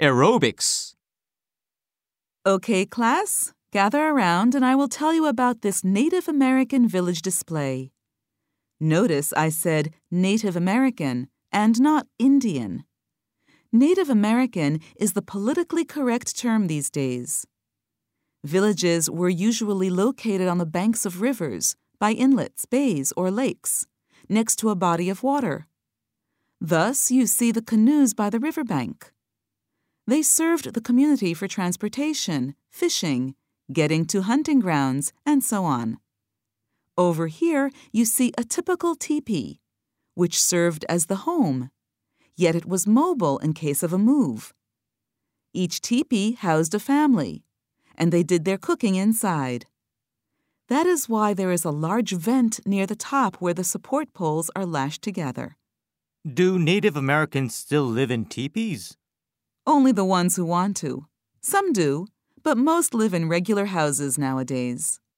Aerobics. Okay, class, gather around and I will tell you about this Native American village display. Notice I said Native American and not Indian. Native American is the politically correct term these days. Villages were usually located on the banks of rivers, by inlets, bays, or lakes, next to a body of water. Thus, you see the canoes by the riverbank. They served the community for transportation, fishing, getting to hunting grounds, and so on. Over here, you see a typical teepee, which served as the home, yet it was mobile in case of a move. Each teepee housed a family, and they did their cooking inside. That is why there is a large vent near the top where the support poles are lashed together. Do Native Americans still live in teepees? Only the ones who want to. Some do, but most live in regular houses nowadays.